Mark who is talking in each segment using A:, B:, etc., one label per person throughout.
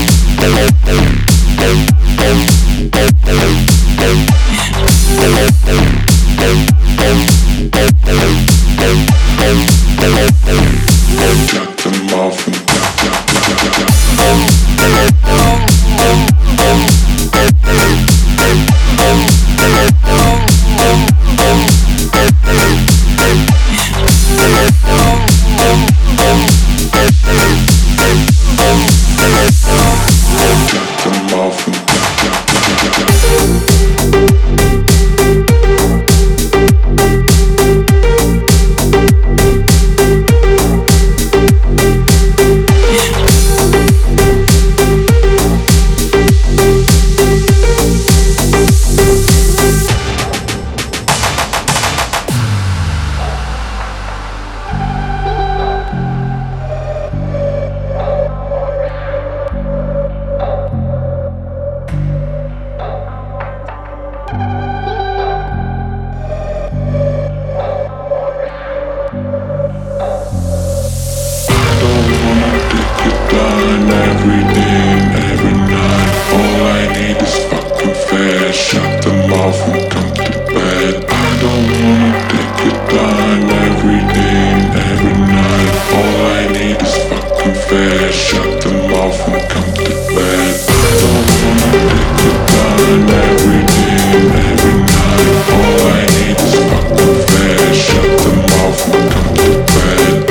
A: Every day and every night, all I need is fucking fast. Shut them off and come to bed. I don't wanna take your time. Every day and every night, all I need is fucking fast. Shut them off and come to bed. I don't wanna take your time. Every day and every night, all I need is fucking fast. Shut them off and come to bed.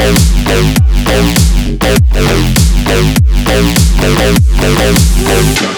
A: Shut